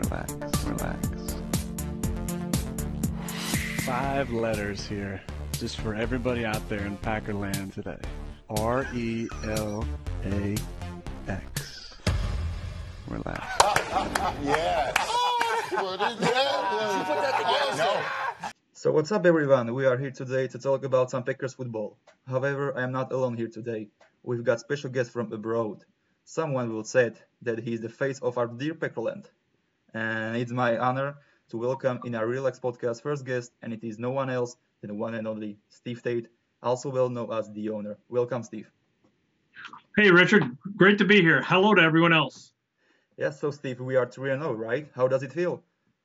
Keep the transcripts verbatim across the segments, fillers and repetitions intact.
Relax, relax. Five letters here, just for everybody out there in Packerland today. R E L A X. Relax. Yes. What is that? No. So what's up everyone, we are here today to talk about some Packers football. However, I am not alone here today. We've got special guests from abroad. Someone will say that he is the face of our dear Packerland. And it's my honor to welcome in our Relax podcast first guest, and it is no one else than the one and only Steve Tate, also well known as the owner. Welcome, Steve. Hey Richard, great to be here. Hello to everyone else. Yes, so Steve, we are three and oh, right? How does it feel?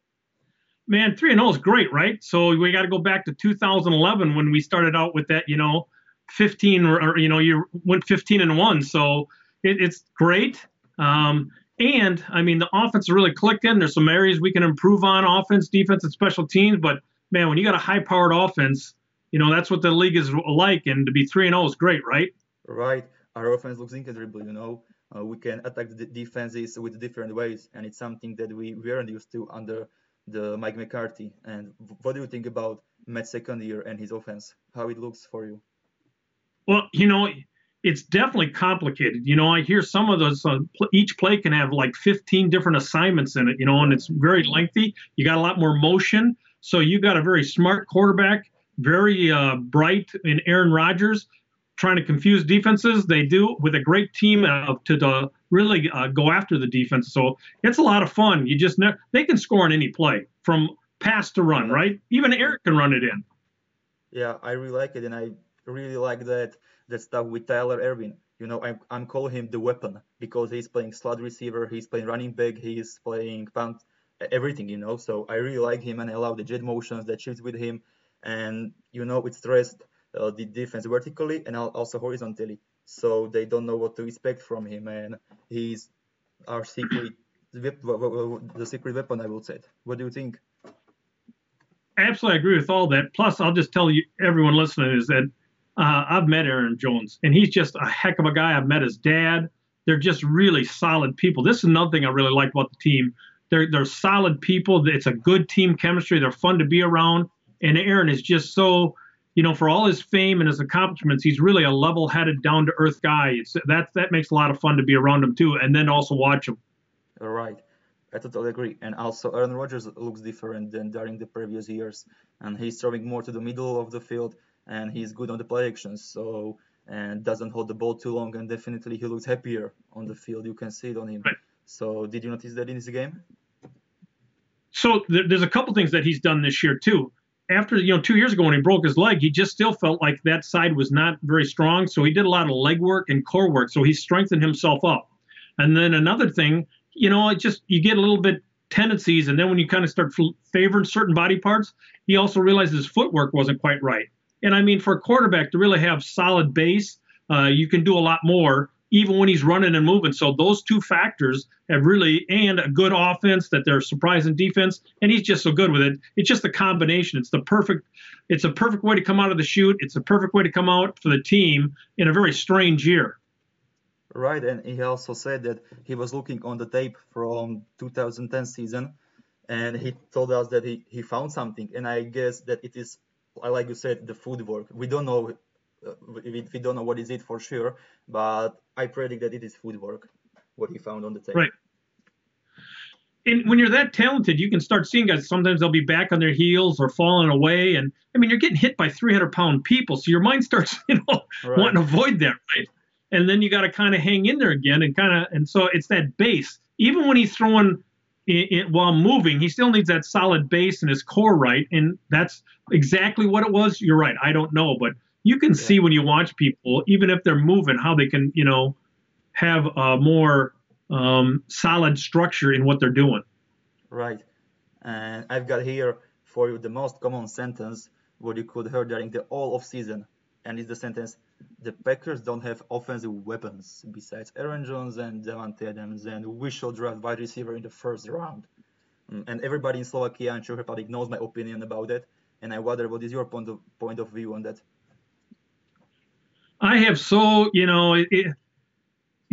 Man, three and oh is great, right? So we got to go back to two thousand eleven when we started out with that, you know, fifteen or, or you know, you went fifteen and one. So it, it's great. Um, and I mean, the offense really clicked in. There's some areas we can improve on: offense, defense, and special teams. But man, when you got a high-powered offense, you know that's what the league is like. And to be three and oh is great, right? Right. Our offense looks incredible. You know, uh, we can attack the defenses with different ways, and it's something that we weren't used to under the Mike McCarthy. And what do you think about Matt's second year and his offense? How it looks for you? Well, you know, it's definitely complicated. You know, I hear some of those, uh, pl- each play can have like fifteen different assignments in it, you know, and it's very lengthy. You got a lot more motion. So you got a very smart quarterback, very uh, bright in Aaron Rodgers, trying to confuse defenses. They do with a great team uh, to, to really uh, go after the defense. So it's a lot of fun. You just ne- they can score on any play from pass to run, right? Even Eric can run it in. Yeah, I really like it, and I really like that that stuff with Tyler Ervin. You know, I'm I'm calling him the weapon because he's playing slot receiver, he's playing running back, he's playing punt, everything. You know, so I really like him, and I love the jet motions that shifts with him, and you know, it stressed uh, the defense vertically and also horizontally, so they don't know what to expect from him, and he's our secret, the secret weapon, I would say. What do you think? Absolutely agree with all that. Plus, I'll just tell you, everyone listening, is that uh, I've met Aaron Jones, and he's just a heck of a guy. I've met his dad. They're just really solid people. This is another thing I really like about the team. They're they're solid people. It's a good team chemistry. They're fun to be around. And Aaron is just so, you know, for all his fame and his accomplishments, he's really a level-headed, down-to-earth guy. It's that that makes a lot of fun to be around him too, and then also watch him. All right. I totally agree. And also, Aaron Rodgers looks different than during the previous years. And he's throwing more to the middle of the field, and he's good on the play actions. So, and doesn't hold the ball too long. And definitely, he looks happier on the field. You can see it on him. Right. So, did you notice that in his game? So there, there's a couple things that he's done this year too. After, you know, two years ago when he broke his leg, he just still felt like that side was not very strong. So he did a lot of leg work and core work. So he strengthened himself up. And then another thing, you know, it just, you get a little bit tendencies. And then when you kind of start favoring certain body parts, he also realized his footwork wasn't quite right. And I mean, for a quarterback to really have solid base, uh, you can do a lot more, even when he's running and moving. So those two factors have really, and a good offense that they're surprising defense, and he's just so good with it. It's just a combination. It's the perfect, it's a perfect way to come out of the chute. It's a perfect way to come out for the team in a very strange year. Right, and he also said that he was looking on the tape from two thousand ten season, and he told us that he, he found something, and I guess that it is, like you said, the footwork. We don't know, uh, we, we don't know what is it for sure, but I predict that it is footwork, what he found on the tape. Right. And when you're that talented, you can start seeing guys, sometimes they'll be back on their heels or falling away, and I mean, you're getting hit by three hundred pound people, so your mind starts, you know, Right. wanting to avoid that, right? And then you got to kind of hang in there again and kind of, and so it's that base. Even when he's throwing it, it, while moving, he still needs that solid base and his core right. And that's exactly what it was. You're right. I don't know, but you can Yeah. see when you watch people, even if they're moving, how they can, you know, have a more um, solid structure in what they're doing. Right. And I've got here for you the most common sentence what you could hear during the all of season. And it's the sentence, the Packers don't have offensive weapons besides Aaron Jones and Davante Adams, and we should draft wide receiver in the first round. Mm, And everybody in Slovakia and Czech Republic knows my opinion about that. And I wonder what is your point of point of view on that? I have so, you know, it, it,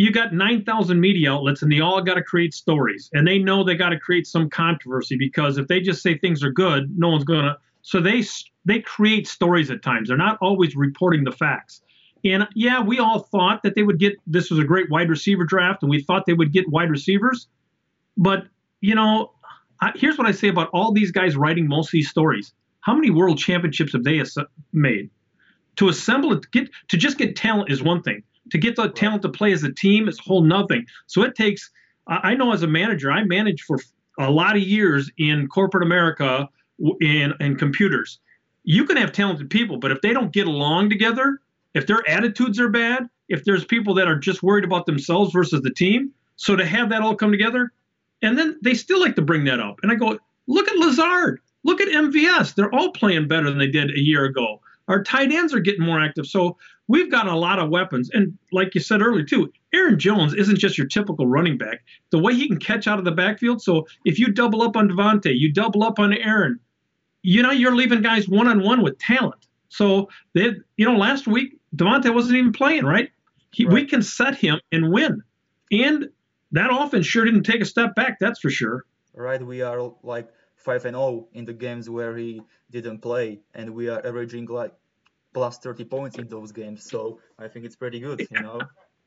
you got nine thousand media outlets and they all got to create stories, and they know they got to create some controversy, because if they just say things are good, no one's going to. So they they create stories at times. They're not always reporting the facts. And yeah, we all thought that they would get, this was a great wide receiver draft, and we thought they would get wide receivers. But, you know, I, here's what I say about all these guys writing most of these stories. How many world championships have they as- made? To assemble it, to get to just get talent is one thing. To get the talent to play as a team is a whole nother thing. So it takes, I know as a manager, I managed for a lot of years in corporate America in, in computers. You can have talented people, but if they don't get along together, if their attitudes are bad, if there's people that are just worried about themselves versus the team, so to have that all come together, and then they still like to bring that up. And I go, look at Lazard, look at M V S. They're all playing better than they did a year ago. Our tight ends are getting more active. So we've got a lot of weapons. And like you said earlier, too, Aaron Jones isn't just your typical running back. The way he can catch out of the backfield. So if you double up on Devontae, you double up on Aaron, you know, you're leaving guys one-on-one with talent. So, they, you know, last week, Devontae wasn't even playing, right? He, right? We can set him and win. And that offense sure didn't take a step back, that's for sure. Right, we are like five and oh in the games where he didn't play, and we are averaging like plus thirty points in those games. So I think it's pretty good, you know.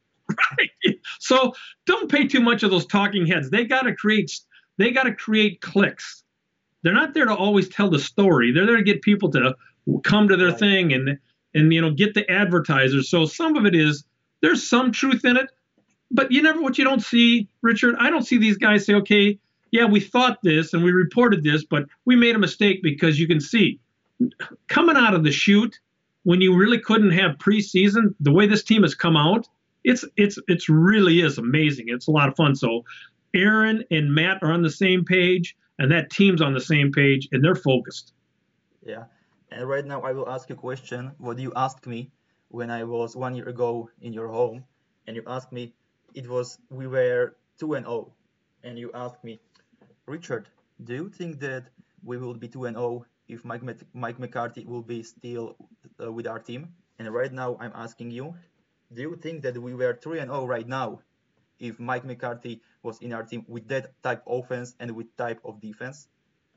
Right. So don't pay too much of those talking heads. They got to create. They got to create clicks. They're not there to always tell the story. They're there to get people to come to their right. thing and and you know get the advertisers. So some of it is there's some truth in it, but you never what you don't see, Richard. I don't see these guys say, okay, yeah, we thought this and we reported this, but we made a mistake, because you can see coming out of the chute when you really couldn't have preseason, the way this team has come out, it's it's it's really is amazing. It's a lot of fun. So Aaron and Matt are on the same page, and that team's on the same page, and they're focused. Yeah. And right now I will ask you a question. What you asked me when I was one year ago in your home, and you asked me, it was we were two and oh, and you asked me, Richard, do you think that we will be two and oh if Mike Mike McCarthy will be still uh, with our team? And right now I'm asking you, do you think that we were three and oh right now if Mike McCarthy was in our team with that type of offense and with type of defense?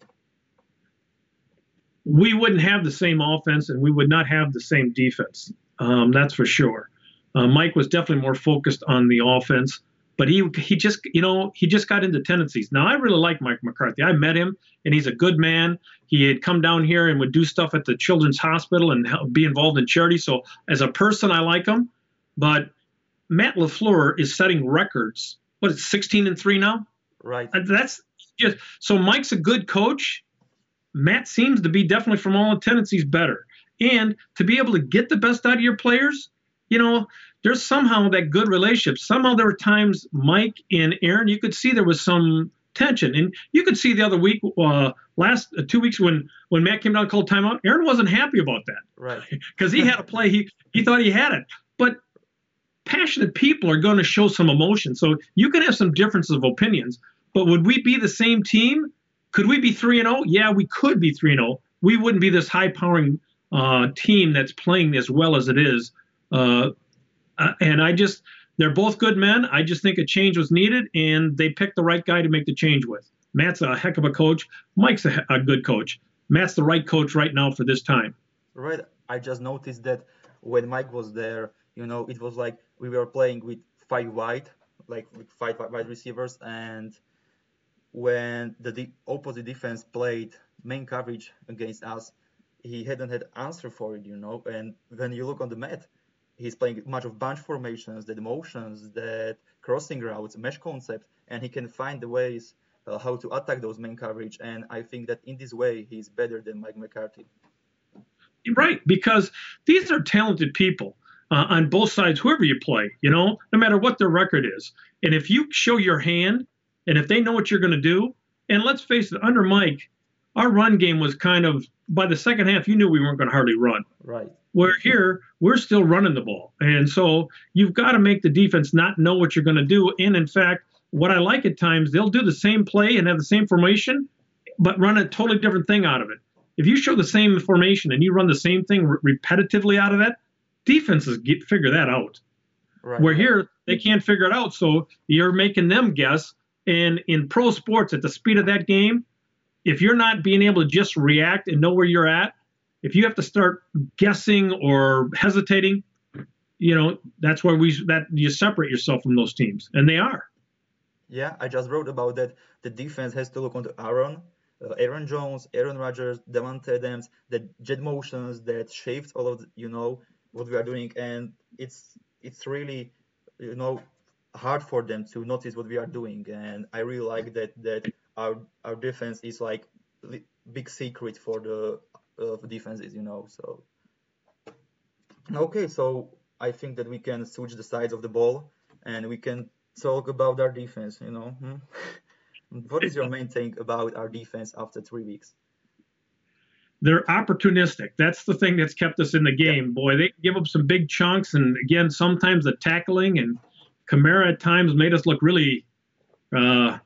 We wouldn't have the same offense, and we would not have the same defense. Um, that's for sure. Uh, Mike was definitely more focused on the offense, but he he just you know he just got into tendencies. Now I really like Mike McCarthy. I met him, and he's a good man. He had come down here and would do stuff at the Children's Hospital and help, be involved in charity. So as a person, I like him. But Matt LaFleur is setting records. What is it, sixteen and three now? Right. That's just so Mike's a good coach. Matt seems to be definitely, from all tendencies, better. And to be able to get the best out of your players, you know, there's somehow that good relationship. Somehow there were times Mike and Aaron, you could see there was some tension. And you could see the other week, uh, last uh, two weeks when, when Matt came down and called timeout, Aaron wasn't happy about that. Right. Because he had a play, he, he thought he had it. But passionate people are going to show some emotion. So you can have some differences of opinions. But would we be the same team? Could we be three and oh? Yeah, we could be three and oh. We wouldn't be this high-powering uh, team that's playing as well as it is. Uh, uh, and I just, they're both good men. I just think a change was needed, and they picked the right guy to make the change with. Matt's a heck of a coach. Mike's a, a good coach. Matt's the right coach right now for this time. Right. I just noticed that when Mike was there, you know, it was like we were playing with five wide, like with five wide receivers, and when the de- opposite defense played main coverage against us, he hadn't had answer for it, you know. And when you look on the mat, he's playing much of bunch formations, that motions, that crossing routes, mesh concept, and he can find the ways uh, how to attack those main coverage. And I think that in this way, he's better than Mike McCarthy. Right, because these are talented people uh, on both sides, whoever you play, you know, no matter what their record is. And if you show your hand, and if they know what you're going to do, and let's face it, under Mike, our run game was kind of, by the second half, you knew we weren't going to hardly run. Right. Where here, we're still running the ball. And so you've got to make the defense not know what you're going to do. And in fact, what I like at times, they'll do the same play and have the same formation, but run a totally different thing out of it. If you show the same formation and you run the same thing re- repetitively out of that, defenses get, figure that out. Right. Where right. here they can't figure it out, so you're making them guess. And in pro sports, at the speed of that game, if you're not being able to just react and know where you're at, if you have to start guessing or hesitating, you know, that's where we that you separate yourself from those teams, and they are. Yeah, I just wrote about that. The defense has to look onto Aaron, uh, Aaron Jones, Aaron Rodgers, Devontae Adams, the jet motions that shaped all of the, you know what we are doing, and it's it's really you know hard for them to notice what we are doing, and I really like that that our our defense is like li- big secret for the uh, defenses, you know. So okay, so I think that we can switch the sides of the ball, and we can talk about our defense. You know, hmm? What is your main thing about our defense after three weeks? They're opportunistic. That's the thing that's kept us in the Yeah, game. Boy, they give up some big chunks, and again, sometimes the tackling and Kamara at times made us look really uh,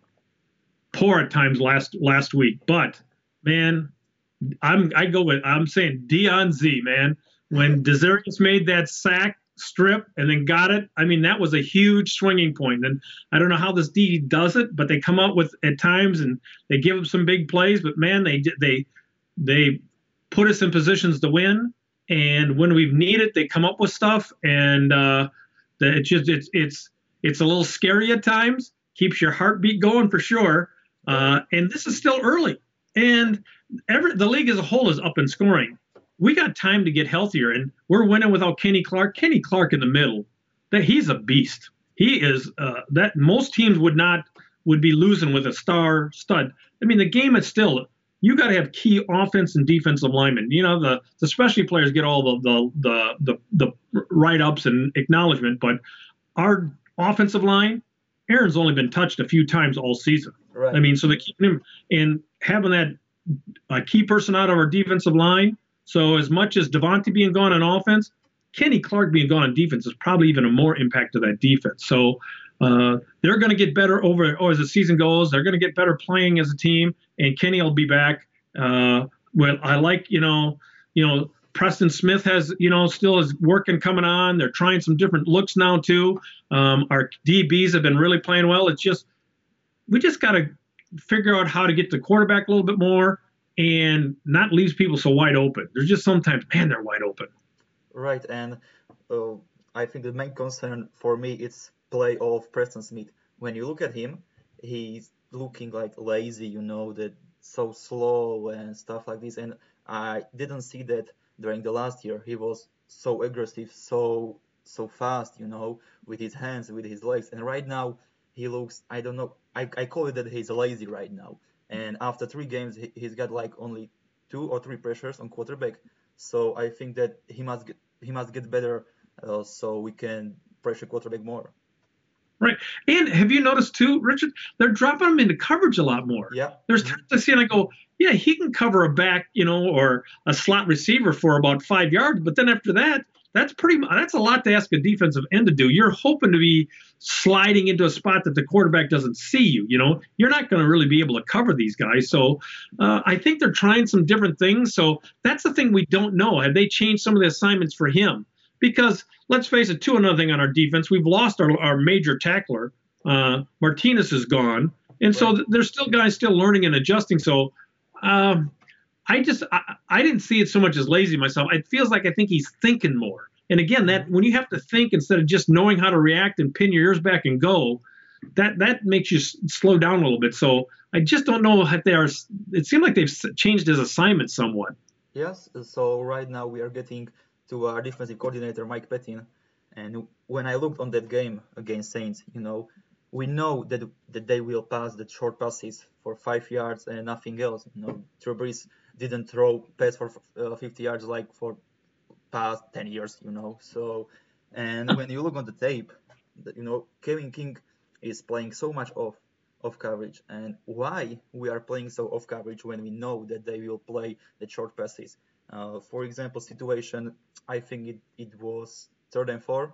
poor at times last last week. But man, I'm I go with I'm saying Dion Z, man. When Desarius made that sack strip and then got it, I mean that was a huge swinging point. And I don't know how this D does it, but they come up with at times and they give them some big plays. But man, they they they put us in positions to win. And when we've needed, they come up with stuff. And uh, the, it's just it's it's it's a little scary at times. Keeps your heartbeat going for sure. Uh, and this is still early. And every the league as a whole is up in scoring. We got time to get healthier, and we're winning without Kenny Clark. Kenny Clark in the middle, that he's a beast. He is uh, that most teams would not would be losing with a star stud. I mean, the game is still you got to have key offense and defensive linemen. You know, the the specialty players get all the the the the, the write ups and acknowledgement, but our offensive line, Aaron's only been touched a few times all season. right. I mean, so they keep him and having that uh, key person out of our defensive line. So as much as Devontae being gone on offense, Kenny Clark being gone on defense is probably even a more impact to that defense. So uh, they're going to get better over or as the season goes. They're going to get better playing as a team, and Kenny will be back. Uh, well, I like you know, you know, Preston Smith has you know still is working coming on. They're trying some different looks now too. Um, our D Bs have been really playing well. It's just we just got to figure out how to get the quarterback a little bit more and not leave people so wide open. There's just sometimes, man, they're wide open. Right, and uh, I think the main concern for me is play of Preston Smith. When you look at him, he's looking like lazy, you know, that so slow and stuff like this. And I didn't see that during the last year. He was so aggressive, so so fast, you know, with his hands, with his legs. And right now, he looks, I don't know, I, I call it that he's lazy right now. And after three games, he, he's got like only two or three pressures on quarterback. So I think that he must get he must get better, uh, so we can pressure quarterback more. Right. And have you noticed too, Richard, they're dropping him into coverage a lot more. Yeah. There's Mhm. times I see and I go, yeah, he can cover a back, you know, or a slot receiver for about five yards. But then after that, that's pretty mu- that's a lot to ask a defensive end to do. You're hoping to be sliding into a spot that the quarterback doesn't see you. You know, you're not going to really be able to cover these guys. So uh, I think they're trying some different things. So that's the thing we don't know. Have they changed some of the assignments for him? Because let's face it, too, another thing on our defense, we've lost our, our major tackler. Uh, Martinez is gone. And so th- there's still guys still learning and adjusting. So um, I just, I, I didn't see it so much as lazy myself. It feels like I think he's thinking more. And again, that when you have to think instead of just knowing how to react and pin your ears back and go, that that makes you s- slow down a little bit. So I just don't know if they are, it seemed like they've s- changed his assignment somewhat. Yes. So right now we are getting to our defensive coordinator Mike Pettin, and when I looked on that game against Saints, you know, we know that that they will pass the short passes for five yards and nothing else. You know, Drew Brees didn't throw pass for uh, fifty yards like for past ten years, you know. So, and when you look on the tape, that, you know, Kevin King is playing so much off off coverage. And why we are playing so off coverage when we know that they will play the short passes? Uh, for example, situation, I think it, it was third and four,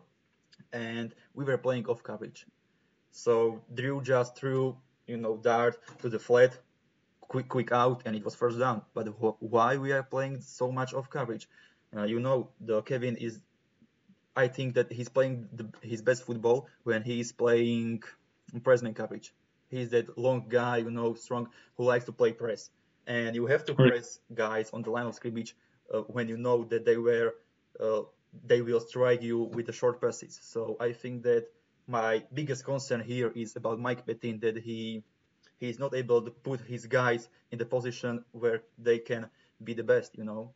and we were playing off coverage. So Drew just threw, you know, dart to the flat, quick quick out, and it was first down. But wh- why we are playing so much off coverage? Uh, you know, the Kevin is I think that he's playing the, his best football when he's playing press-man coverage. He's that long guy, you know, strong, who likes to play press. And you have to Right. press guys on the line of scrimmage uh, when you know that they were uh, they will strike you with the short passes. So I think that my biggest concern here is about Mike Petin, that he he's not able to put his guys in the position where they can be the best, you know.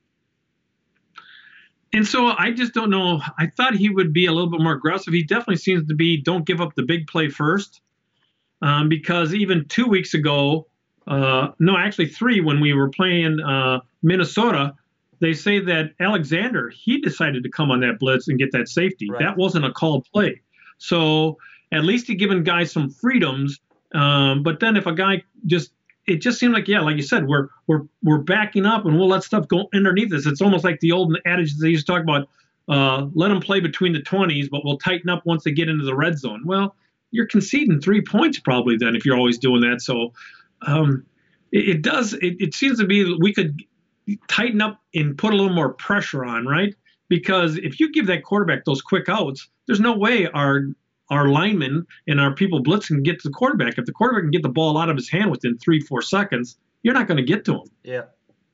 And so I just don't know. I thought he would be a little bit more aggressive. He definitely seems to be don't give up the big play first. Um, because even two weeks ago, uh, no, actually three, when we were playing uh, Minnesota, they say that Alexander, he decided to come on that blitz and get that safety. Right. That wasn't a called play. So at least he given guys some freedoms. Um, but then if a guy just, it just seemed like, yeah, like you said, we're we're we're backing up and we'll let stuff go underneath us. It's almost like the old adage that they used to talk about, uh, let them play between the twenties, but we'll tighten up once they get into the red zone. Well, you're conceding three points probably then if you're always doing that. So um, it, it does, it, it seems to be we could tighten up and put a little more pressure on, right? Because if you give that quarterback those quick outs, there's no way our our linemen and our people blitzing can get to the quarterback. If the quarterback can get the ball out of his hand within three, four seconds, you're not going to get to him. Yeah.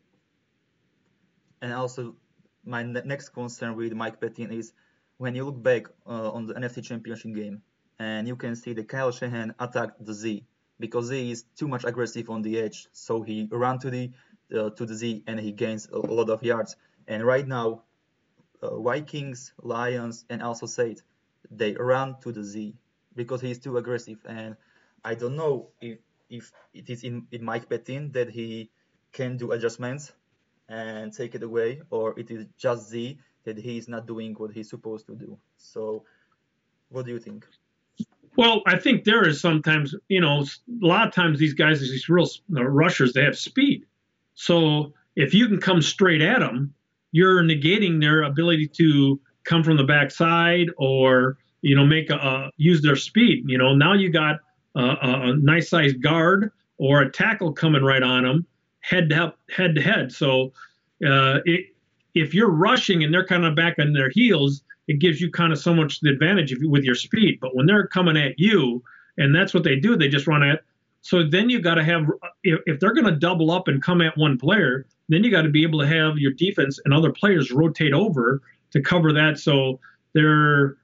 And also, my ne- next concern with Mike Petin is when you look back uh, on the N F C Championship game, and you can see that Kyle Shanahan attacked the Z because Z is too much aggressive on the edge. So he ran to the uh, to the Z and he gains a, a lot of yards. And right now, uh, Vikings, Lions, and also Saints, they run to the Z because he's too aggressive. And I don't know if if it is in, in Mike Petin that he can do adjustments and take it away, or it is just Z that he is not doing what he's supposed to do. So what do you think? Well, I think there is sometimes, you know, a lot of times these guys, these real uh, rushers, they have speed. So if you can come straight at them, you're negating their ability to come from the backside or, you know, make a, a use their speed. You know, now you got a, a nice sized guard or a tackle coming right on them, head to head to head. So uh, it, if you're rushing and they're kind of back on their heels, it gives you kind of so much the advantage if you, with your speed. But when they're coming at you, and that's what they do, they just run at. So then you got to have, if, if they're going to double up and come at one player, then you got to be able to have your defense and other players rotate over to cover that. So they're,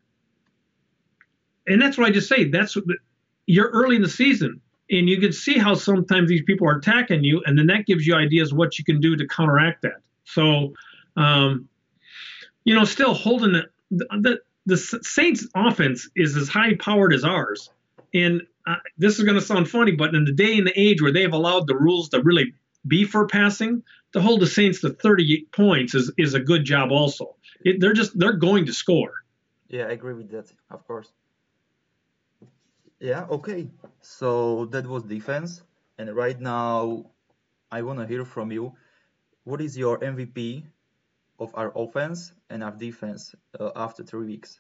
and that's what I just say. That's what, you're early in the season, and you can see how sometimes these people are attacking you, and then that gives you ideas what you can do to counteract that. So, um, you know, still holding it. The, the Saints offense is as high powered as ours. And uh, this is going to sound funny, but in the day and the age where they've allowed the rules to really be for passing, to hold the Saints to thirty-eight points is, is a good job also. It, they're just, they're going to score. Yeah, I agree with that, of course. Yeah, okay. So that was defense. And right now, I want to hear from you. What is your M V P of our offense and our defense uh, after three weeks?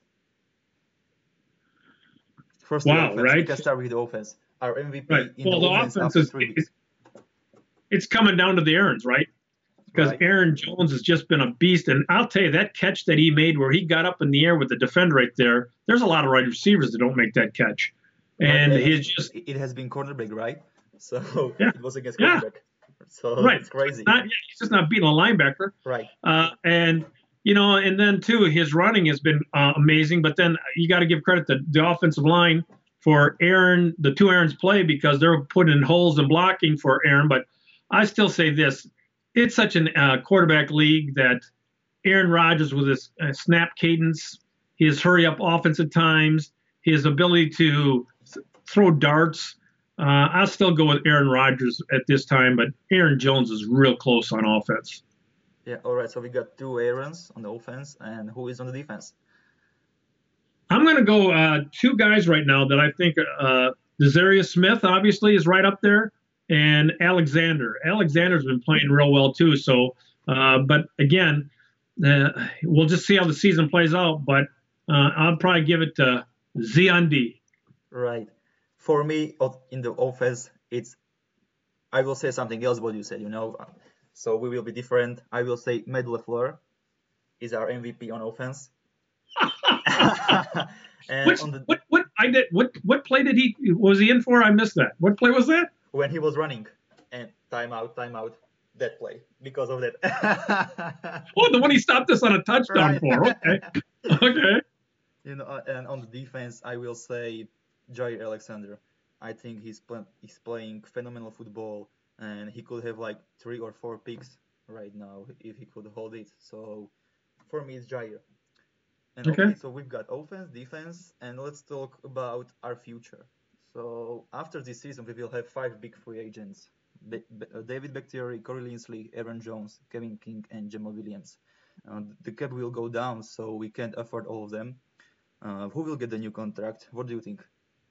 First, Wow, the offense. right? We can start with the offense. Our M V P Right. in Well, the the offense, offense after is, three weeks. it's coming down to the Aarons, right? Because Right. Aaron Jones has just been a beast. And I'll tell you, that catch that he made where he got up in the air with the defender right there, there's a lot of wide receivers that don't make that catch. And Right, he's just, it has been cornerback, right? So Yeah. it was against Yeah. cornerback. So right. it's crazy. Not, yeah, he's just not beating a linebacker. Right. Uh, and, you know, and then, too, his running has been uh, amazing. But then you got to give credit to the offensive line for Aaron, the two Aarons play, because they're putting in holes and blocking for Aaron. But I still say this. It's such a uh, quarterback league that Aaron Rodgers with his uh, snap cadence, his hurry-up offense at times, his ability to throw darts, uh, I'll still go with Aaron Rodgers at this time, but Aaron Jones is real close on offense. Yeah, all right. So we got two Aarons on the offense, and who is on the defense? I'm going to go uh, two guys right now that I think uh, Desarius Smith, obviously, is right up there, and Alexander. Alexander's been playing real well, too. So, uh, but again, uh, we'll just see how the season plays out, but uh, I'll probably give it to Zion D. Right. For me, of- in the offense, it's I will say something else what you said, you know. So we will be different. I will say Matt LaFleur is our M V P on offense. And Which, on the, what what I did what what play did he was he in for? I missed that. What play was that? when he was running and timeout, timeout, that play because of that. Oh, the one he stopped us on a touchdown Right. for. Okay, okay. You know, uh, and on the defense, I will say Jair Alexander. I think he's pl- he's playing phenomenal football, and he could have like three or four picks right now if he could hold it. So for me, it's Jair. And Okay. okay, so we've got offense, defense, and let's talk about our future. So after this season, we will have five big free agents: Be- Be- uh, David Bakhtiari, Corey Linsley, Aaron Jones, Kevin King, and Jamal Williams. Uh, the cap will go down, so we can't afford all of them. Uh, who will get the new contract? What do you think?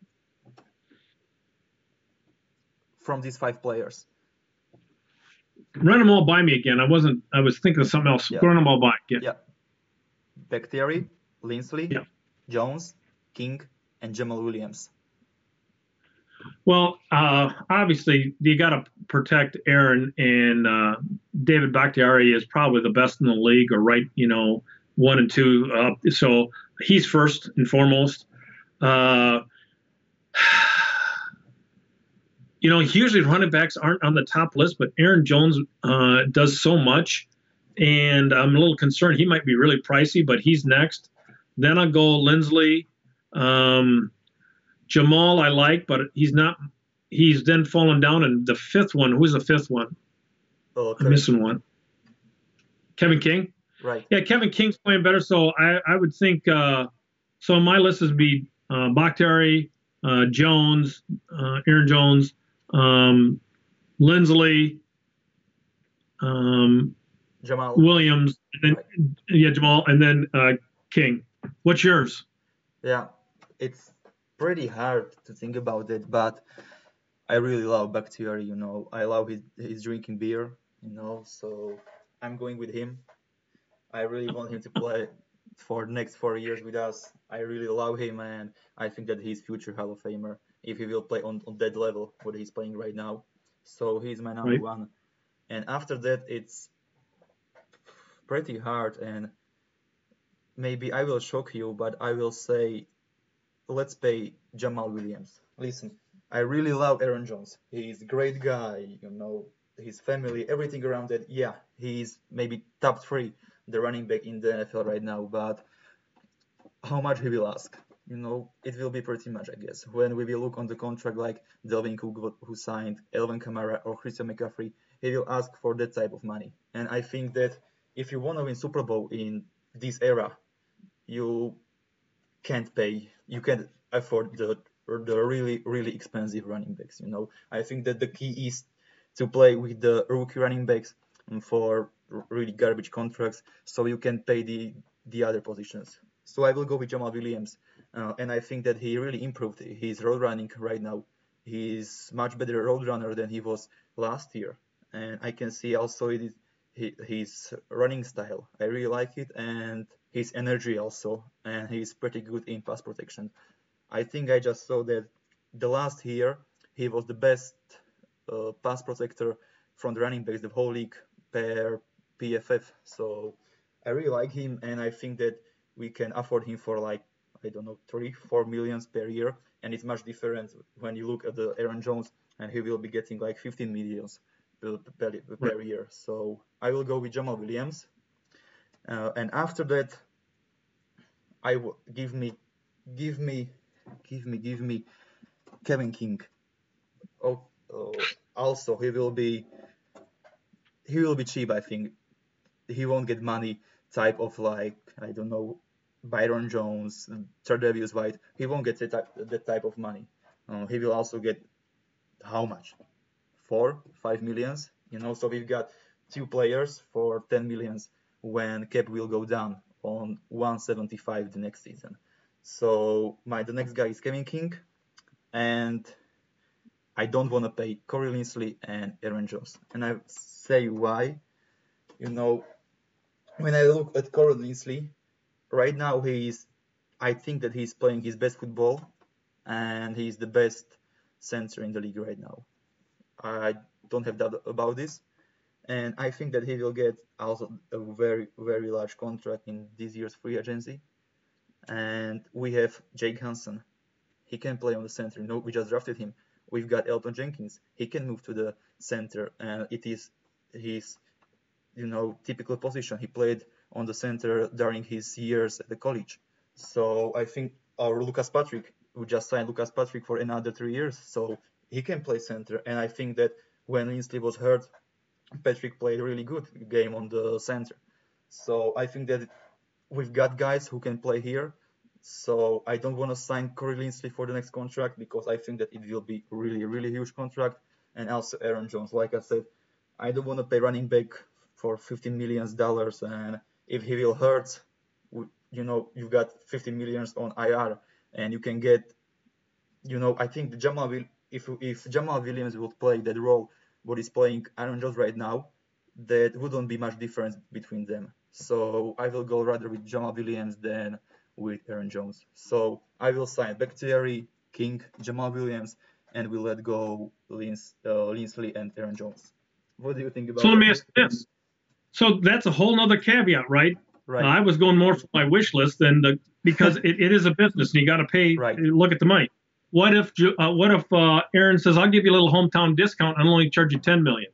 From these five players. Run them all by me again. I wasn't. I was thinking of something else. Yeah. Run them all by. Yeah. Yeah. Bakhtiari, Linsley, Yeah. Jones, King, and Jamal Williams. Well, uh, obviously you got to protect Aaron, and uh, David Bakhtiari is probably the best in the league, or right, you know, one and two. Uh, so he's first and foremost. Uh, you know, usually running backs aren't on the top list, but Aaron Jones uh, does so much, and I'm a little concerned he might be really pricey, but he's next. Then I'll go Linsley. Um, Jamal I like, but he's not. He's then fallen down. And the fifth one, who's the fifth one? Oh, I'm missing one. Kevin King. Right. Yeah, Kevin King's playing better. So I, I would think. Uh, so my list would be uh, Bakhtiari, uh, Jones, uh, Aaron Jones, um, Linsley, um, Jamal. Williams, and then Right. yeah, Jamal, and then uh, King. What's yours? Yeah, it's pretty hard to think about it, but I really love Bakhtiari, you know. I love his, his drinking beer, you know, so I'm going with him. I really want him to play for the next four years with us. I really love him, and I think that he's future Hall of Famer if he will play on, on that level what he's playing right now. So he's my number Right. one. And after that, it's pretty hard, and maybe I will shock you, but I will say let's pay Jamal Williams. Listen, I really love Aaron Jones. He's a great guy, you know, his family, everything around that. Yeah, he's maybe top three, the running back in the N F L right now, but how much he will ask? You know, it will be pretty much, I guess. When we will look on the contract like Delvin Cook, who signed Elvin Kamara or Christian McCaffrey, he will ask for that type of money. And I think that if you want to win Super Bowl in this era, you can't pay, you can't afford the the really really expensive running backs. You know, I think that the key is to play with the rookie running backs for really garbage contracts, so you can pay the the other positions. So I will go with Jamal Williams, uh, and I think that he really improved his road running right now. He's much better road runner than he was last year, and I can see also it is his running style. I really like it, and his energy also, and he's pretty good in pass protection. I think I just saw that the last year he was the best uh, pass protector from the running backs, the whole league per P F F. So I really like him, and I think that we can afford him for like, I don't know, three, four millions per year, and it's much different when you look at the Aaron Jones, and he will be getting like fifteen millions per, per, per year. So I will go with Jamal Williams. Uh, and after that, I will give me, give me, give me, give me Kevin King. Oh, oh, also he will be, he will be cheap. I think he won't get money type of like, I don't know, Byron Jones, Tre'Davious White. He won't get that type, that type of money. Uh, he will also get how much? Four, five millions. You know, so we've got two players for ten millions when cap will go down on one seventy-five the next season. So my the next guy is Kevin King, and I don't want to pay Corey Linsley and Aaron Jones. And I say why. You know, when I look at Corey Linsley, right now he's, I think that he's playing his best football, and he's the best center in the league right now. I don't have doubt about this. And I think that he will get also a very, very large contract in this year's free agency. And we have Jake Hansen. He can play on the center. You know, we just drafted him. We've got Elton Jenkins. He can move to the center, and it is his, you know, typical position. He played on the center during his years at the college. So I think our Lucas Patrick, we just signed Lucas Patrick for another three years, so he can play center. And I think that when Linsley was hurt, Patrick played a really good game on the center. So I think that we've got guys who can play here. So I don't want to sign Corey Linsley for the next contract because I think that it will be really, really huge contract. And also Aaron Jones, like I said, I don't want to pay running back for fifteen million dollars. And if he will hurt, you know, you've got fifty millions on I R, and you can get, you know, I think Jamal will, if if Jamal Williams would play that role, what is playing Aaron Jones right now, that wouldn't be much difference between them. So I will go rather with Jamal Williams than with Aaron Jones. So I will sign Bakhtiari, King, Jamal Williams, and we'll let go Lins, uh, Linsley and Aaron Jones. What do you think about So let me that? ask you this. So that's a whole nother caveat, right? Right. Uh, I was going more for my wish list than the because it, it is a business and you got to pay. Right. Look at the money. What if Ju- uh, what if uh, Aaron says, "I'll give you a little hometown discount and I'll only charge you ten million."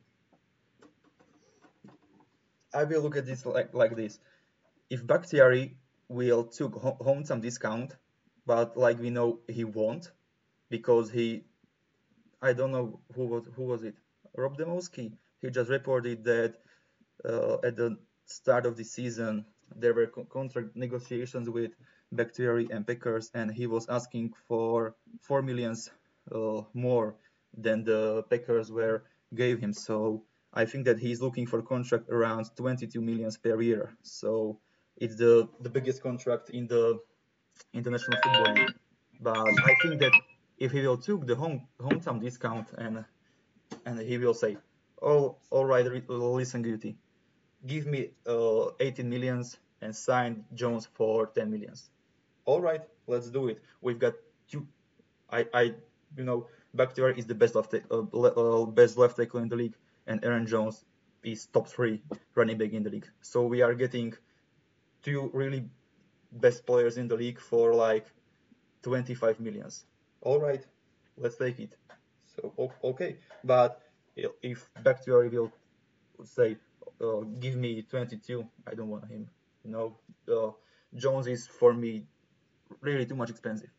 I will look at this like, like this. If Bakhtiari will took ho- hometown discount, but like we know he won't, because he, I don't know who was who was it, Rob Demowski. He just reported that uh, at the start of the season there were co- contract negotiations with Bakhtiari and Packers, and he was asking for four millions uh, more than the Packers were gave him. So I think that he's looking for a contract around twenty-two millions per year. So it's the, the biggest contract in the International Football League. But I think that if he will took the home hometown discount and and he will say, oh, all right, listen, Guti, give me uh, eighteen millions and sign Jones for ten millions. All right, let's do it. We've got two. I, I you know, Bakhtiari is the best left uh, uh, best left tackle in the league, and Aaron Jones is top three running back in the league. So we are getting two really best players in the league for like twenty-five millions. All right, let's take it. So okay, but if Bakhtiari will say, uh, give me twenty-two, I don't want him. You know, uh, Jones is for me really too much expensive.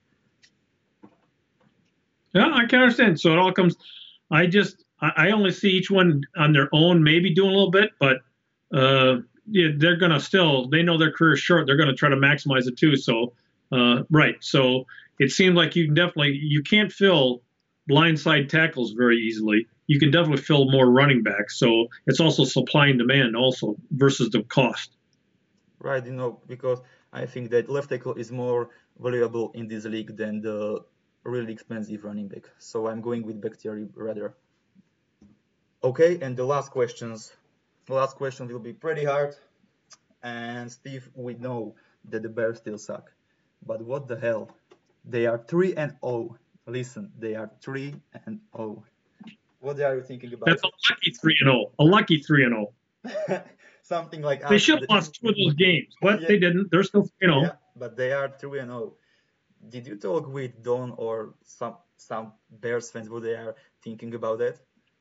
Yeah, I can understand. So it all comes. I just I, I only see each one on their own, maybe doing a little bit, but uh, yeah, they're gonna still. They know their career is short. They're gonna try to maximize it too. So uh, right. So it seems like you can definitely you can't fill blindside tackles very easily. You can definitely fill more running backs. So it's also supply and demand also versus the cost. Right, you know, because I think that left tackle is more valuable in this league than the really expensive running back. So I'm going with Bakhtiari rather. Okay, and the last questions. The last question will be pretty hard. And Steve, we know that the Bears still suck. But what the hell? They are three and oh. Listen, they are three and oh. What are you thinking about? That's a lucky three and oh. A lucky three and oh. Something like They us. should have lost two of those games, but Yeah. they didn't. They're still, you know. Yeah, but they are three and oh. Did you talk with Don or some some Bears fans what they are thinking about that?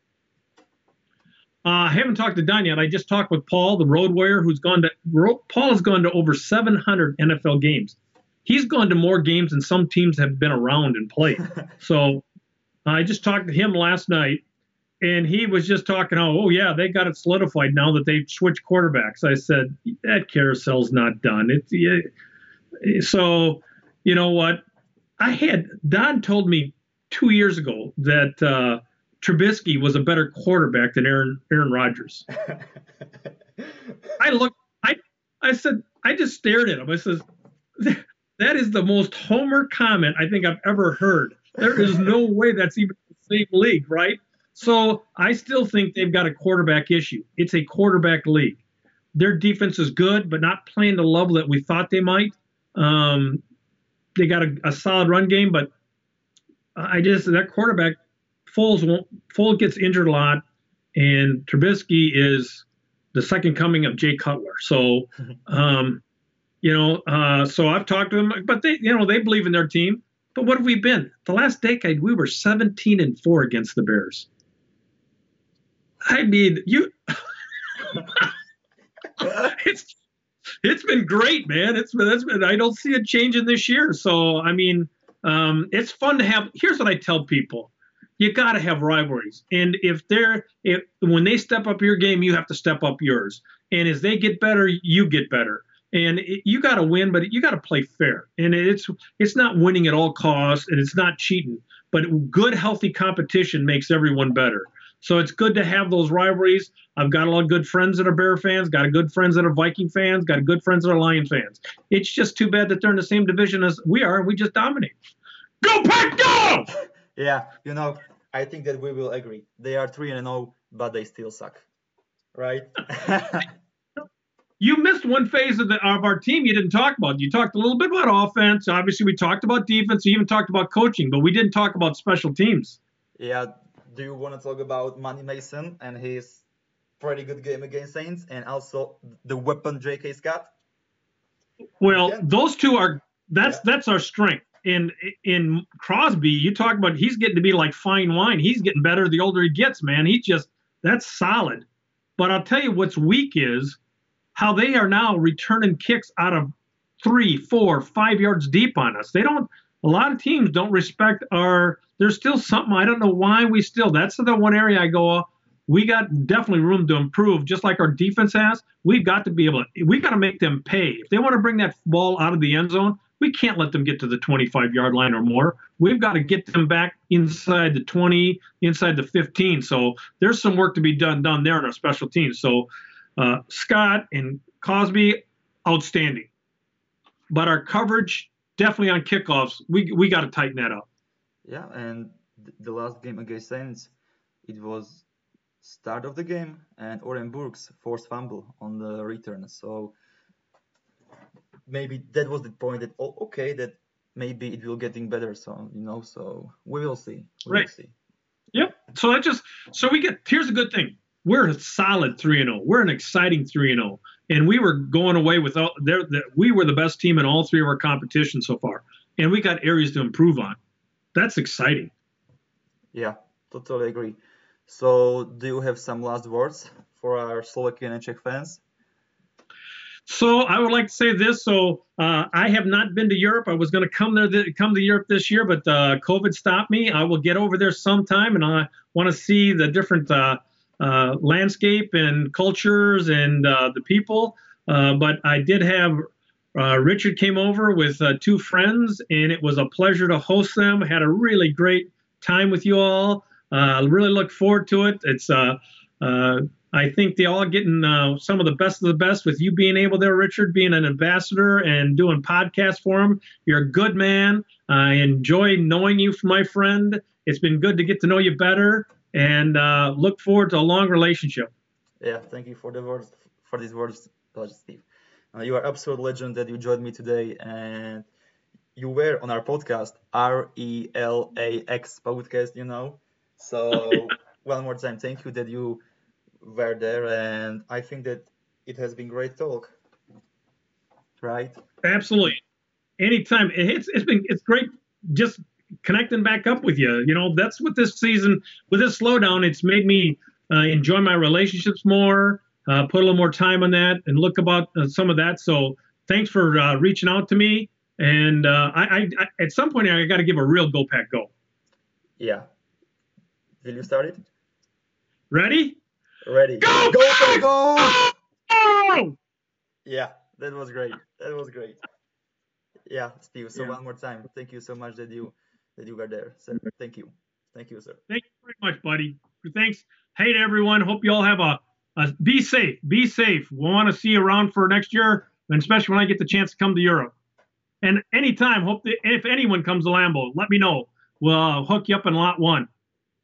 Uh, I haven't talked to Don yet. I just talked with Paul, the road warrior, who's gone to. Ro- Paul has gone to over seven hundred N F L games. He's gone to more games than some teams have been around and played. So I just talked to him last night, and he was just talking, oh, oh yeah, they got it solidified now that they've switched quarterbacks. I said, that carousel's not done. It's yeah. So, you know what? I had, Don told me two years ago that uh, Trubisky was a better quarterback than Aaron Aaron Rodgers. I looked, I, I said, I just stared at him. I said, that is the most homer comment I think I've ever heard. There is no way that's even the same league, right? So I still think they've got a quarterback issue. It's a quarterback league. Their defense is good, but not playing the level that we thought they might. Um, they got a, a solid run game, but I just that quarterback Foles won't. Foles gets injured a lot, and Trubisky is the second coming of Jay Cutler. So um, You know, uh, so I've talked to them, but they, you know, they believe in their team. But what have we been? The last decade, we were seventeen and four against the Bears. I mean, you. it's it's been great, man. It's been, it's been I don't see it changing this year. So I mean, um, it's fun to have. Here's what I tell people: you got to have rivalries, and if they're if when they step up your game, you have to step up yours. And as they get better, you get better. And it, you got to win, but you got to play fair. And it's it's not winning at all costs, and it's not cheating. But good, healthy competition makes everyone better. So it's good to have those rivalries. I've got a lot of good friends that are Bear fans, got a good friends that are Viking fans, got good friends that are Lion fans. It's just too bad that they're in the same division as we are, and we just dominate. Go Pack, go! Yeah, you know, I think that we will agree. They are three and zero, but they still suck, right? You missed one phase of, the, of our team you didn't talk about. You talked a little bit about offense. Obviously, we talked about defense. We even talked about coaching, but we didn't talk about special teams. Yeah. Do you want to talk about Money Mason and his pretty good game against Saints, and also the weapon J K Scott? Well, Yeah. those two are that's Yeah. that's our strength. In in Crosby, you talk about he's getting to be like fine wine. He's getting better the older he gets, man. He just that's solid. But I'll tell you what's weak is how they are now returning kicks out of three, four, five yards deep on us. They don't. A lot of teams don't respect our. There's still something. I don't know why we still. That's the one area I go. We got definitely room to improve, just like our defense has. We've got to be able to. We got to make them pay. If they want to bring that ball out of the end zone, we can't let them get to the twenty-five yard line or more. We've got to get them back inside the twenty, inside the fifteen. So there's some work to be done done there in our special teams. So uh, Scott and Cosby, outstanding. But our coverage, definitely on kickoffs, we we got to tighten that up. Yeah, and th- the last game against Saints, it was start of the game, and Oren Burks forced fumble on the return. So maybe that was the point that oh, okay, that maybe it will getting better. So you know, so we will see. We Right. will see. Yep. So that just so we get here's a good thing. We're a solid three and zero. We're an exciting three and zero, and we were going away with all. There, we were the best team in all three of our competitions so far, and we got areas to improve on. That's exciting. Yeah, totally agree. So do you have some last words for our Slovakian and Czech fans? So I would like to say this. So uh, I have not been to Europe. I was going to come there, th- come to Europe this year, but uh, COVID stopped me. I will get over there sometime, and I want to see the different uh, uh, landscape and cultures and uh, the people. Uh, but I did have uh, Richard came over with uh, two friends, and it was a pleasure to host them. Had a really great time with you all. Uh, really look forward to it. It's uh, uh, I think they all getting uh, some of the best of the best with you being able there, Richard, being an ambassador and doing podcasts for them. You're a good man. I enjoy knowing you, my friend. It's been good to get to know you better, and uh, look forward to a long relationship. Yeah, thank you for the words, for these words, uh, Steve. Uh, you are absolute legend that you joined me today, and you were on our podcast, R E L A X podcast, you know. So one more time, thank you that you were there, and I think that it has been great talk, right? Absolutely. Anytime. It's it's been it's great just connecting back up with you. You know, that's what this season with this slowdown, it's made me uh, enjoy my relationships more, uh, put a little more time on that, and look about uh, some of that. So thanks for uh, reaching out to me. And uh, I, I, I at some point I got to give a real Go Pack Go. Yeah. Will you start it? Ready? Ready. Go go, Pack! go, go! Oh! Yeah, that was great. That was great. Yeah, Steve. So Yeah. one more time, thank you so much that you that you were there, sir. Thank you. Thank you, sir. Thank you very much, buddy. Thanks. Hey to everyone. Hope you all have a, a be safe. Be safe. We want to see you around for next year, and especially when I get the chance to come to Europe. And anytime, hope that if anyone comes to Lambeau, let me know. We'll uh, hook you up in lot one.